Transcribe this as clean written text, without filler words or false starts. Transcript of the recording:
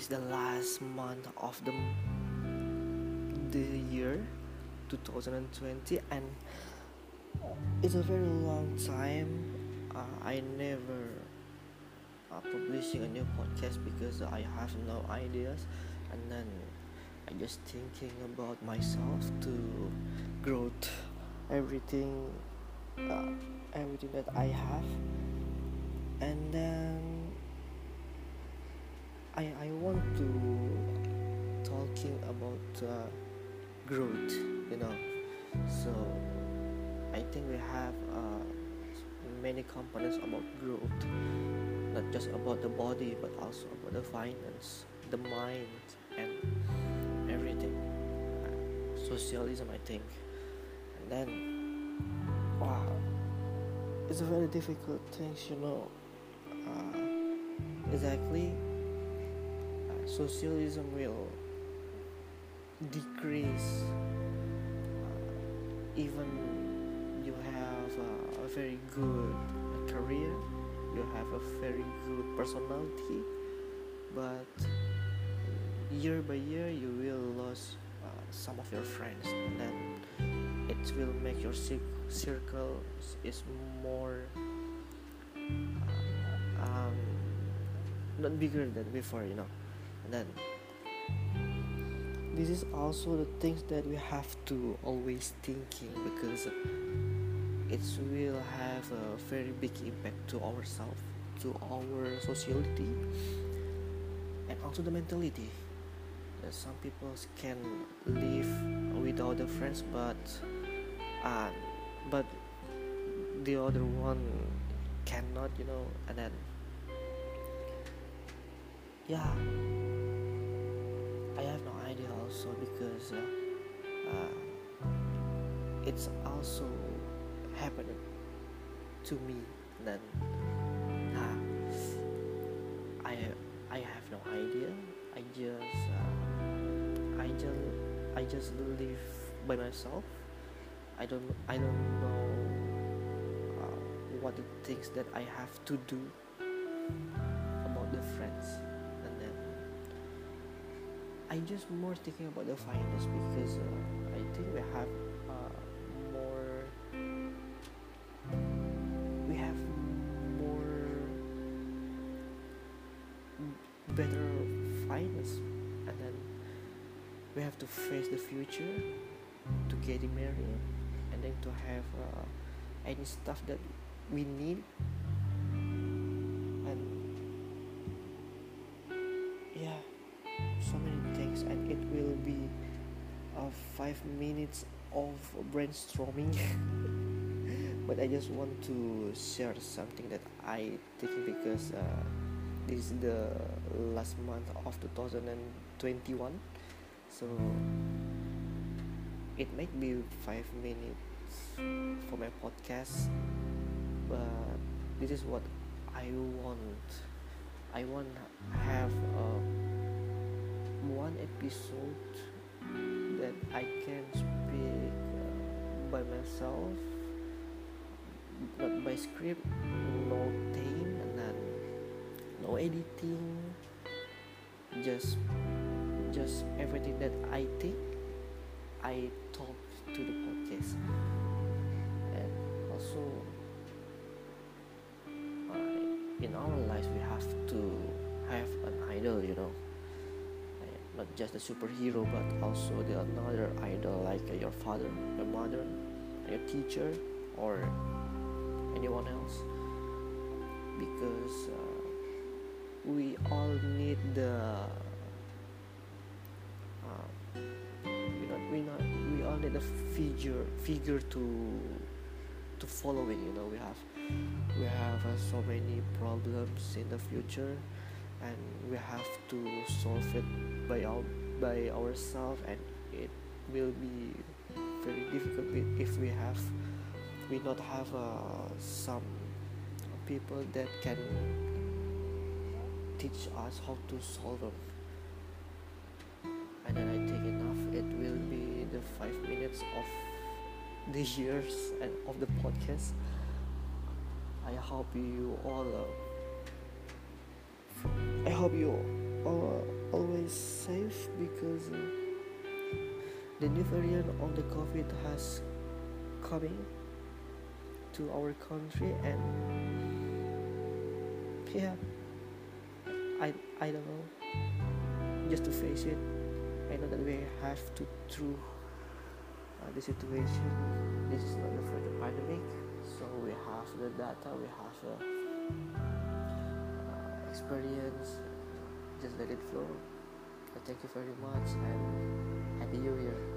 is the last month of the year 2020, and it's a very long time. I never publishing a new podcast because I have no ideas, and then I just thinking about myself to growth everything, uh, everything that I have, and then I want to talking about growth, you know. So I think we have many components about growth, not just about the body but also about the finance, the mind, and everything. Socialism, I think. And then, wow, it's a very difficult thing, you know. Exactly, socialism will decrease even you have a very good career, you have a very good personality, but year by year you will lose some of your friends, and then it will make your circle is more um, not bigger than before, you know. And then this is also the things that we have to always thinking, because it will have a very big impact to ourselves, to our sociality, and also the mentality. Some people can live without the friends, uh, but the other one cannot, you know. And then yeah, I have no idea also, because it's also happening to me. Then uh, I I have no idea. I just live by myself. I don't know what the things that I have to do about the friends. And then I just more thinking about the finance, because I think more we have more better finance, and then we have to face the future, to getting married, and then to have any stuff that we need. And yeah, so many things, and it will be 5 minutes of brainstorming. But I just want to share something that I think, because this is the last month of 2021, so it might be 5 minutes for my podcast, but this is what I want. I want to have one episode that I can speak by myself, not by script, no theme, and then no editing, just everything that I think I talk to the podcast. And also in our lives we have to have an idol, you know. Not just the superhero, but also the another idol, like your father, your mother, your teacher, or anyone else, because we all need the we all need a figure to following, you know. We have so many problems in the future, and we have to solve it by ourselves, and it will be very difficult if we not have some people that can teach us how to solve them. And then I think enough, it will be the 5 minutes of the years and of the podcast. I hope you all always safe because the new variant of the COVID has coming to our country, and yeah, I don't know, just to face it. I know that we have to through the situation. This is not the first pandemic, so we have the data, we have the experience. Just let it flow. Thank you very much and happy New Year.